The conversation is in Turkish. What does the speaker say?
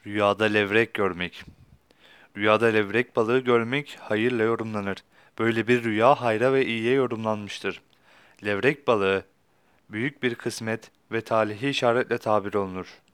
Rüyada levrek görmek. Rüyada levrek balığı görmek hayırla yorumlanır. Böyle bir rüya hayra ve iyiye yorumlanmıştır. Levrek balığı büyük bir kısmet ve talihi işaretle tabir olunur.